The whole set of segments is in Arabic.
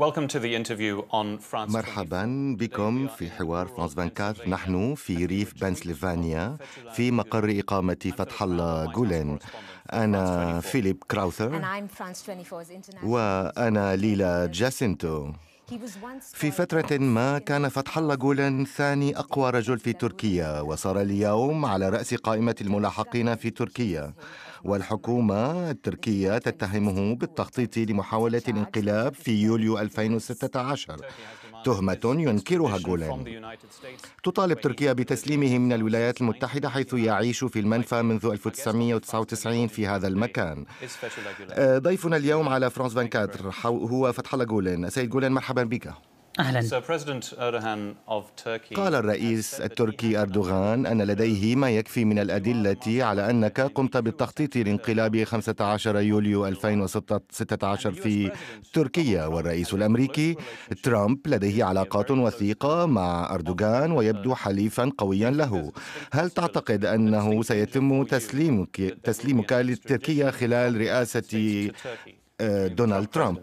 مرحبا بكم في حوار فرانس 24. نحن في ريف بنسلفانيا في مقر إقامة فتح الله جولين. أنا فيليب كراوثر وأنا ليلا جاسينتو. في فترة ما كان فتح الله جولين ثاني أقوى رجل في تركيا، وصار اليوم على رأس قائمة الملاحقين في تركيا، والحكومة التركية تتهمه بالتخطيط لمحاولة الانقلاب في يوليو 2016، تهمة ينكرها جولين. تطالب تركيا بتسليمه من الولايات المتحدة، حيث يعيش في المنفى منذ 1999 في هذا المكان. ضيفنا اليوم على فرانس 24 هو فتح الله جولين. سيد جولين، مرحبا بك. أهلا. قال الرئيس التركي أردوغان أن لديه ما يكفي من الأدلة على أنك قمت بالتخطيط لانقلاب 15 يوليو 2016 في تركيا، والرئيس الأمريكي ترامب لديه علاقات وثيقة مع أردوغان ويبدو حليفا قويا له. هل تعتقد أنه سيتم تسليمك لتركيا خلال رئاسة دونالد ترامب؟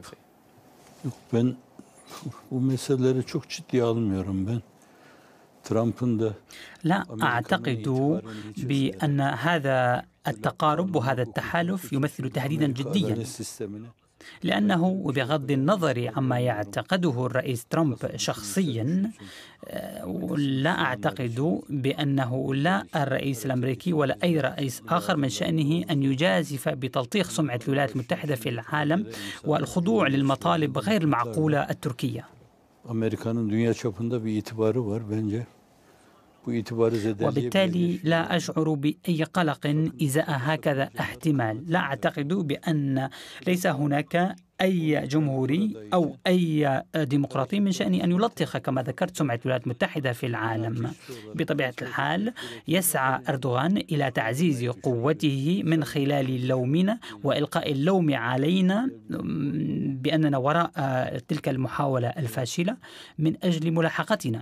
لا أعتقد بأن هذا التقارب وهذا التحالف يمثل تهديدا جديا، لأنه بغض النظر عما يعتقده الرئيس ترامب شخصيا، لا أعتقد بأنه لا الرئيس الأمريكي ولا أي رئيس آخر من شأنه أن يجازف بتلطيخ سمعة الولايات المتحدة في العالم والخضوع للمطالب غير المعقولة التركية. وبالتالي لا أشعر بأي قلق إزاء هكذا احتمال. لا أعتقد بأن ليس هناك أي جمهوري أو أي ديمقراطي من شأنه أن يلطخ كما ذكرت سمعة الولايات المتحدة في العالم. بطبيعة الحال يسعى أردوغان إلى تعزيز قوته من خلال لومنا وإلقاء اللوم علينا بأننا وراء تلك المحاولة الفاشلة من أجل ملاحقتنا.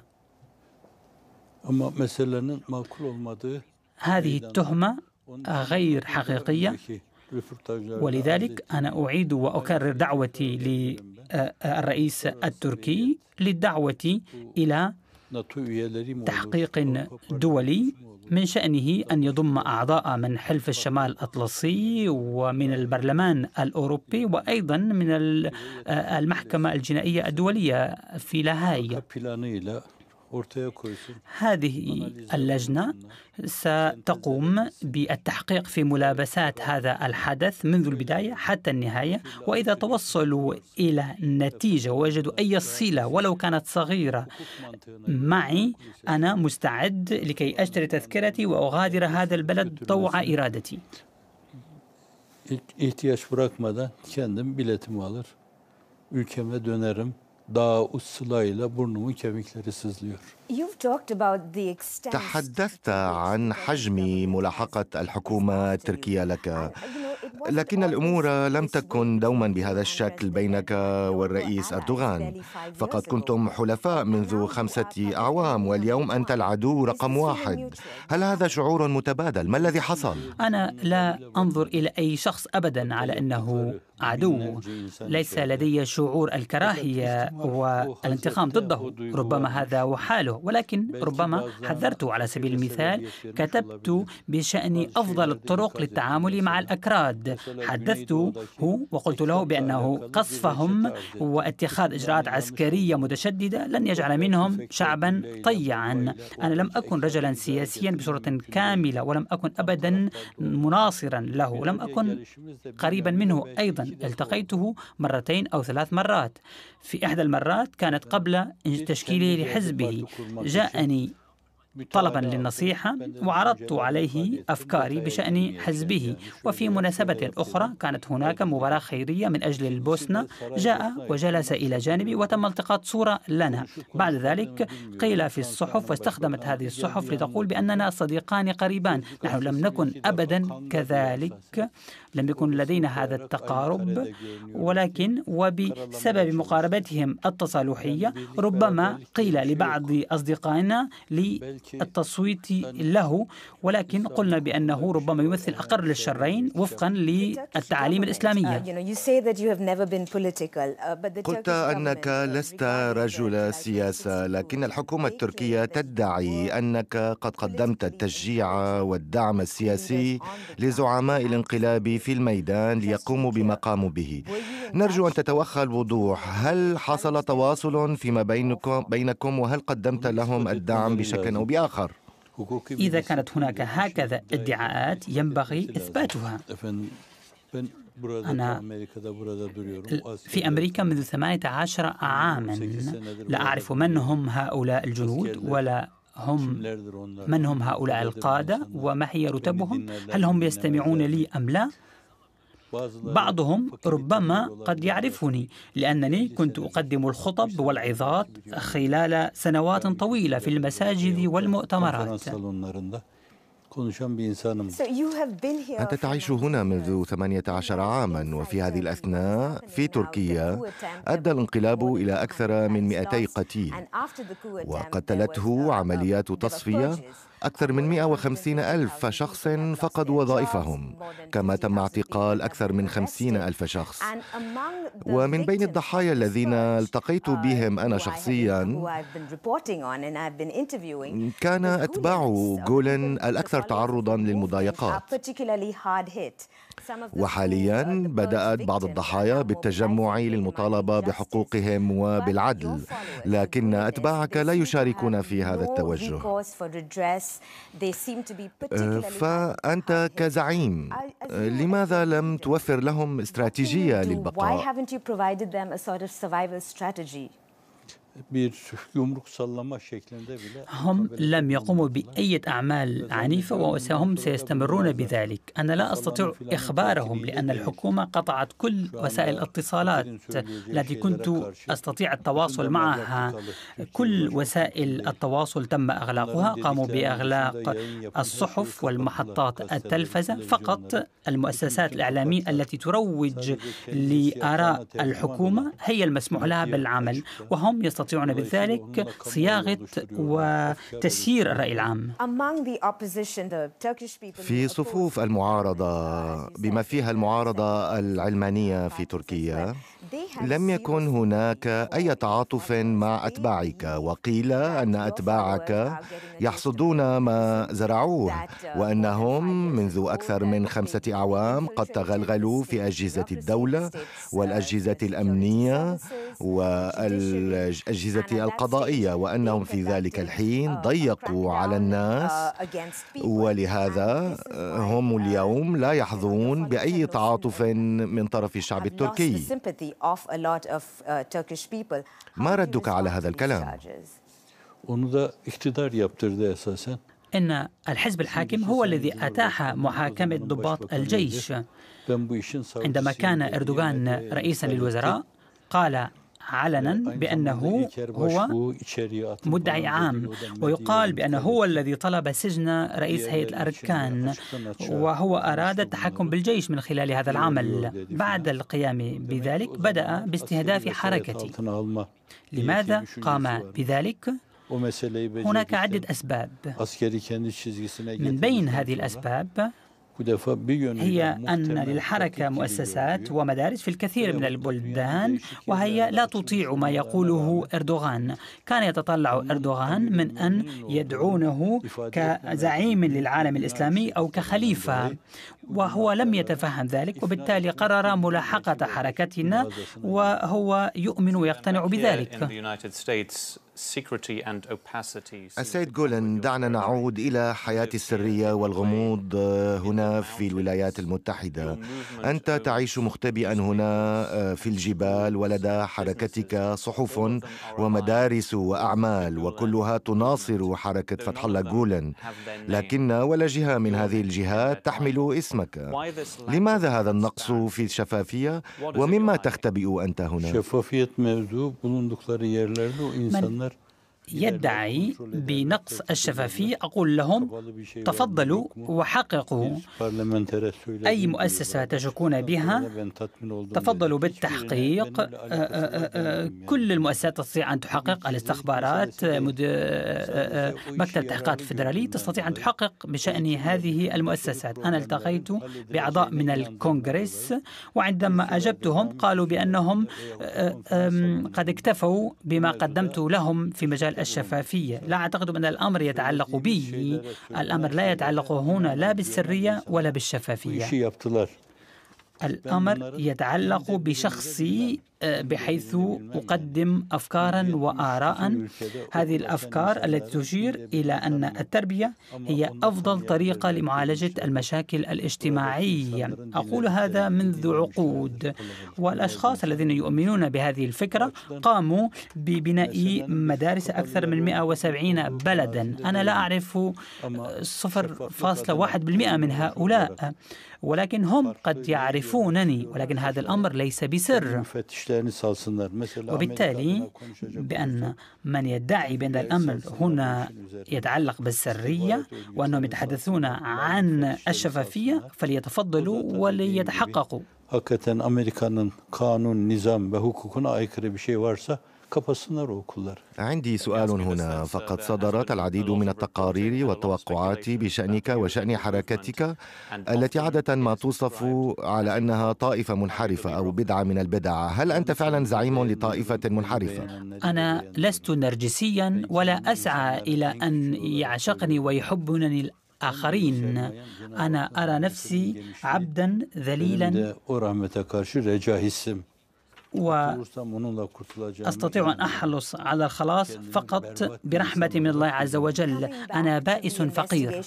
هذه التهمة غير حقيقية، ولذلك أنا أعيد وأكرر دعوتي للرئيس التركي للدعوة إلى تحقيق دولي من شأنه أن يضم أعضاء من حلف الشمال الأطلسي ومن البرلمان الأوروبي وأيضا من المحكمة الجنائية الدولية في لاهاي. هذه اللجنة ستقوم بالتحقيق في ملابسات هذا الحدث منذ البداية حتى النهاية، وإذا توصلوا إلى نتيجة ووجدوا أي صلة ولو كانت صغيرة معي، أنا مستعد لكي أشتري تذكرتي وأغادر هذا البلد طوع إرادتي. تحدثت عن حجم ملاحقة الحكومة التركية لك، لكن الأمور لم تكن دوما بهذا الشكل بينك والرئيس أردوغان، فقد كنتم حلفاء منذ 5 أعوام واليوم أنت العدو رقم 1. هل هذا شعور متبادل؟ ما الذي حصل؟ أنا لا أنظر إلى أي شخص أبدا على أنه عدو. ليس لدي شعور الكراهية والانتقام ضده، ربما هذا وحاله، ولكن ربما حذرت. على سبيل المثال كتبت بشأن أفضل الطرق للتعامل مع الأكراد، حدثته وقلت له بأنه قصفهم واتخاذ إجراءات عسكرية متشددة لن يجعل منهم شعبا طيعا. أنا لم أكن رجلا سياسيا بصورة كاملة ولم أكن أبدا مناصرا له، لم أكن قريبا منه أيضا. التقيته 2 أو 3 مرات، في إحدى المرات كانت قبل تشكيله لحزبه. جاءني طلبا للنصيحة وعرضت عليه أفكاري بشأن حزبه، وفي مناسبة أخرى كانت هناك مباراة خيرية من أجل البوسنة، جاء وجلس إلى جانبي وتم التقاط صورة لنا. بعد ذلك قيل في الصحف واستخدمت هذه الصحف لتقول بأننا صديقان قريبان. نحن لم نكن أبدا كذلك، لم يكن لدينا هذا التقارب، ولكن وبسبب مقاربتهم التصالحية ربما قيل لبعض أصدقائنا التصويت له، ولكن قلنا بأنه ربما يمثل أقل الشرين وفقا للتعاليم الإسلامية. قلت أنك لست رجل سياسة، لكن الحكومة التركية تدعي أنك قد قدمت التشجيع والدعم السياسي لزعماء الانقلاب في الميدان ليقوموا بما قاموا به. نرجو أن تتوخى الوضوح، هل حصل تواصل فيما بينكم وهل قدمت لهم الدعم بشكل أو بآخر؟ إذا كانت هناك هكذا ادعاءات ينبغي إثباتها. أنا في أمريكا منذ 18 عاما، لا أعرف من هم هؤلاء الجنود ولا من هم هؤلاء القادة وما هي رتبهم، هل هم يستمعون لي أم لا؟ بعضهم ربما قد يعرفني لأنني كنت أقدم الخطب والعظات خلال سنوات طويلة في المساجد والمؤتمرات. أنت تعيش هنا منذ 18 عاما، وفي هذه الأثناء في تركيا أدى الانقلاب إلى أكثر من 200 قتيل، وقتلته عمليات تصفية. أكثر من 150,000 شخص فقدوا وظائفهم، كما تم اعتقال أكثر من 50,000 شخص. ومن بين الضحايا الذين التقيت بهم أنا شخصيا كان أتباع جولن الأكثر تعرضا للمضايقات. وحاليا بدأت بعض الضحايا بالتجمع للمطالبة بحقوقهم وبالعدل، لكن أتباعك لا يشاركون في هذا التوجه. فأنت كزعيم لماذا لم توفر لهم استراتيجية للبقاء؟ هم لم يقوموا بأي أعمال عنيفة وهم سيستمرون بذلك. أنا لا أستطيع إخبارهم لأن الحكومة قطعت كل وسائل الاتصالات التي كنت أستطيع التواصل معها. كل وسائل التواصل تم إغلاقها، قاموا بإغلاق الصحف والمحطات التلفزة، فقط المؤسسات الإعلامية التي تروج لآراء الحكومة هي المسموح لها بالعمل، وهم يستطيعون بذلك صياغة وتسيير الرأي العام. في صفوف المعارضة بما فيها المعارضة العلمانية في تركيا لم يكن هناك أي تعاطف مع أتباعك، وقيل أن أتباعك يحصدون ما زرعوه، وأنهم منذ أكثر من 5 أعوام قد تغلغلوا في أجهزة الدولة والأجهزة الأمنية والأجهزة القضائية، وأنهم في ذلك الحين ضيقوا على الناس، ولهذا هم اليوم لا يحظون بأي تعاطف من طرف الشعب التركي. ما ردك على هذا الكلام؟ إن الحزب الحاكم هو الذي أتاح محاكمة ضباط الجيش. عندما كان أردوغان رئيسا للوزراء قال علنا بأنه هو مدعي عام، ويقال بأنه هو الذي طلب سجن رئيس هيئة الأركان، وهو أراد التحكم بالجيش من خلال هذا العمل. بعد القيام بذلك بدأ باستهداف حركتي. لماذا قام بذلك؟ هناك عدة أسباب. من بين هذه الأسباب هي أن للحركة مؤسسات ومدارس في الكثير من البلدان، وهي لا تطيع ما يقوله أردوغان. كان يتطلع أردوغان من أن يدعونه كزعيم للعالم الإسلامي أو كخليفة، وهو لم يتفهم ذلك، وبالتالي قرر ملاحقة حركتنا، وهو يؤمن ويقتنع بذلك. السيد جولن، دعنا نعود إلى حياة السرية والغموض هنا في الولايات المتحدة. أنت تعيش مختبئا هنا في الجبال، ولدى حركتك صحف ومدارس وأعمال، وكلها تناصر حركة فتح الله جولن، لكن ولا جهة من هذه الجهات تحمل اسمك. لماذا هذا النقص في الشفافية، ومما تختبئ أنت هنا؟ يدعي بنقص الشفافية أقول لهم تفضلوا وحققوا أي مؤسسة تشكون بها، تفضلوا بالتحقيق. كل المؤسسات تستطيع أن تحقق، الاستخبارات، مكتب التحقيقات الفيدرالي تستطيع أن تحقق بشأن هذه المؤسسات. أنا التقيت بأعضاء من الكونغرس، وعندما أجبتهم قالوا بأنهم قد اكتفوا بما قدمت لهم في مجال الشفافية. لا أعتقد أن الأمر يتعلق بي، الأمر لا يتعلق هنا لا بالسرية ولا بالشفافية. الأمر يتعلق بشخصي، بحيث أقدم أفكارا وآراء. هذه الأفكار التي تشير إلى أن التربية هي أفضل طريقة لمعالجة المشاكل الاجتماعية. أقول هذا منذ عقود، والأشخاص الذين يؤمنون بهذه الفكرة قاموا ببناء مدارس أكثر من 170 بلدا. أنا لا أعرف 0.1% من هؤلاء، ولكن هم قد يعرفونني، ولكن هذا الأمر ليس بسر. وبالتالي بأن من يدعي بأن الأمر هنا يتعلق بالسرية وأنهم يتحدثون عن الشفافية فليتفضلوا وليتحققوا. Hakikaten Amerika'nın kanun, nizam ve hukukuna aykırı bir şey varsa kapasınlar o okullar. عندي سؤال هنا. فقد صدرت العديد من التقارير والتوقعات بشأنك وشأن حركتك التي عادة ما توصف على أنها طائفة منحرفة أو بدعة من البدع. هل أنت فعلا زعيم لطائفة منحرفة؟ أنا لست نرجسيا ولا أسعى إلى أن يعشقني ويحبني الآخرين. أنا أرى نفسي عبدا ذليلا، وأستطيع أن أحرص على الخلاص فقط برحمة من الله عز وجل. أنا بائس فقير.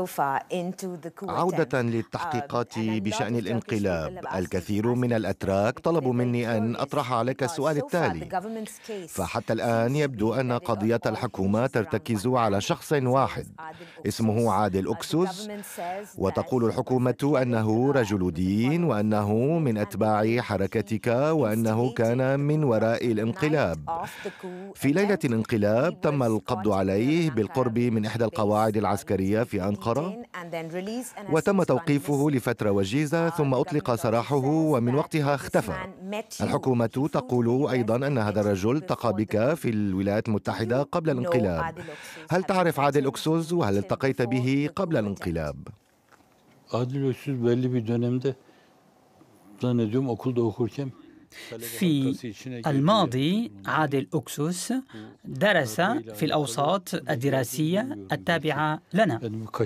عودة للتحقيقات بشأن الانقلاب، الكثير من الأتراك طلبوا مني أن أطرح عليك السؤال التالي. فحتى الآن يبدو أن قضية الحكومة ترتكز على شخص واحد اسمه عادل أكسوس، وتقول الحكومة أنه رجل دين وأنه من أتباع حركتك وأنه كان من وراء الانقلاب. في ليلة الانقلاب تم القبض عليه بالقرب من إحدى القواعد العسكرية في أنقرة، وتم توقيفه لفترة وجيزة، ثم أطلق سراحه ومن وقتها اختفى. الحكومة تقول أيضا أن هذا الرجل التقى بك في الولايات المتحدة قبل الانقلاب. هل تعرف عادل أكسوس وهل التقيت به قبل الانقلاب؟ عادل أكسوس belli bir dönemde zannediyorum okulda okurken في الماضي عادل أكسوس درس في الأوساط الدراسية التابعة لنا،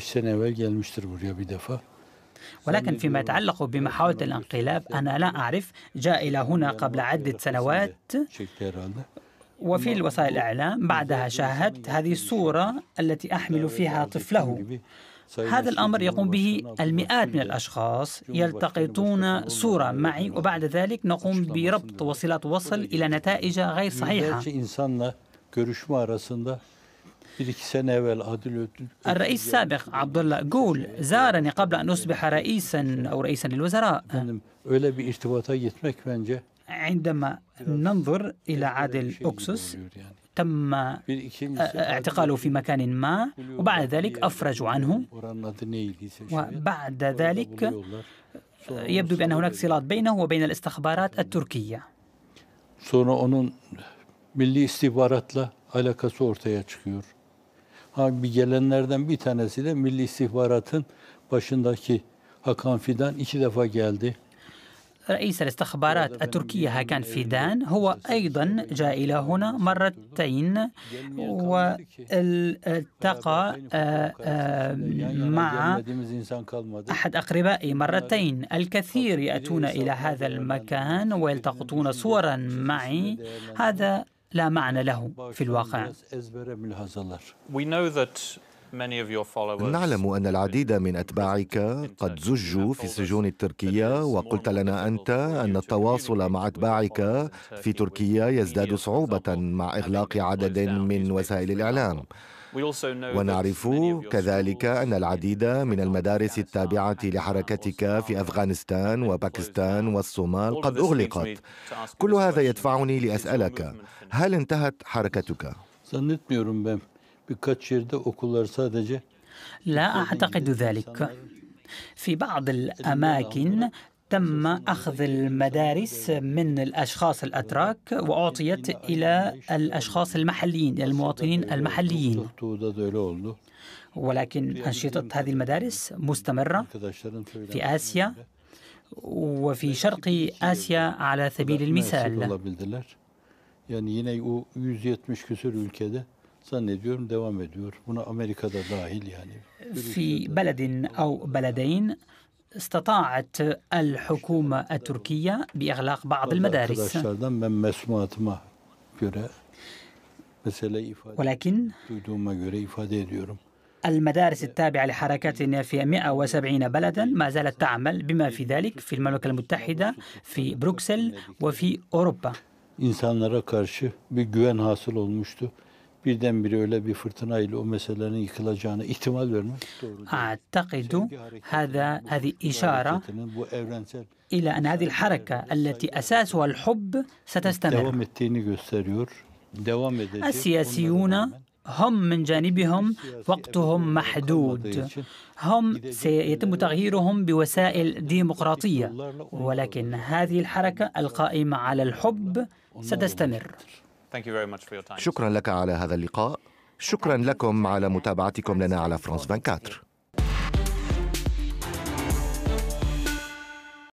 ولكن فيما يتعلق بمحاولة الانقلاب أنا لا أعرف. جاء إلى هنا قبل عدة سنوات، وفي الوسائل الإعلام بعدها شاهدت هذه الصورة التي أحمل فيها طفله. هذا الأمر يقوم به المئات من الأشخاص، يلتقطون صورة معي وبعد ذلك نقوم بربط وصلات وصل إلى نتائج غير صحيحة. الرئيس السابق عبد الله جول زارني قبل أن أصبح رئيسا أو رئيسا للوزراء. عندما ننظر إلى عادل أكسوس تم اعتقاله في مكان ما، وبعد ذلك أفرجوا عنه، وبعد ذلك يبدو بأن هناك صلات بينه وبين الاستخبارات التركية. Sonra onun milli istihbaratla alakası ortaya çıkıyor. Bir gelenlerden bir tanesi de milli istihbaratın başındaki Hakan Fidan 2 defa geldi. رئيس الاستخبارات التركية هاكان فيدان هو أيضا جاء إلى هنا مرتين، والتقى مع أحد أقربائي مرتين. الكثير يأتون إلى هذا المكان ويلتقطون صورا معي. هذا لا معنى له في الواقع. نعلم أن العديد من أتباعك قد زجوا في السجون التركية، وقلت لنا أنت أن التواصل مع أتباعك في تركيا يزداد صعوبة مع إغلاق عدد من وسائل الإعلام. ونعرف كذلك أن العديد من المدارس التابعة لحركتك في أفغانستان وباكستان والصومال قد أغلقت. كل هذا يدفعني لأسألك، هل انتهت حركتك؟ Zannetmiyorum ben birkaç yerde okullar sadece. لا أعتقد ذلك. في بعض الأماكن تم أخذ المدارس من الأشخاص الأتراك وأعطيت إلى الأشخاص المحليين، المواطنين المحليين. ولكن أنشطة هذه المدارس مستمرة في آسيا وفي شرق آسيا على سبيل المثال. Yani yine o 170 küsur ülkede zannediyorum devam ediyor. Buna Amerika'da dahil yani. في بلد أو بلدين استطاعت الحكومة التركية بإغلاق بعض المدارس. Arkadaşlardan ben mesmuatıma göre meseleyi duyduğuma göre ifade ediyorum. المدارس التابعة لحركاتنا في 170 بلدا ما زالت تعمل بما في ذلك في المملكة المتحدة، في بروكسل وفي أوروبا. İnsanlara karşı bir güven hasıl olmuştu. Birdenbire öyle bir fırtınayla o meselelerin yıkılacağına ihtimal vermek doğru. أعتقد هذه إشارة إلى أن هذه الحركة التي أساسها الحب ستستمر. devam ettiğini gösteriyor. Devam edecek. السياسيون هم من جانبهم وقتهم محدود، هم سيتم تغييرهم بوسائل ديمقراطية، ولكن هذه الحركة القائمة على الحب ستستمر. شكرا لك على هذا اللقاء. شكرا لكم على متابعتكم لنا على فرانس 24.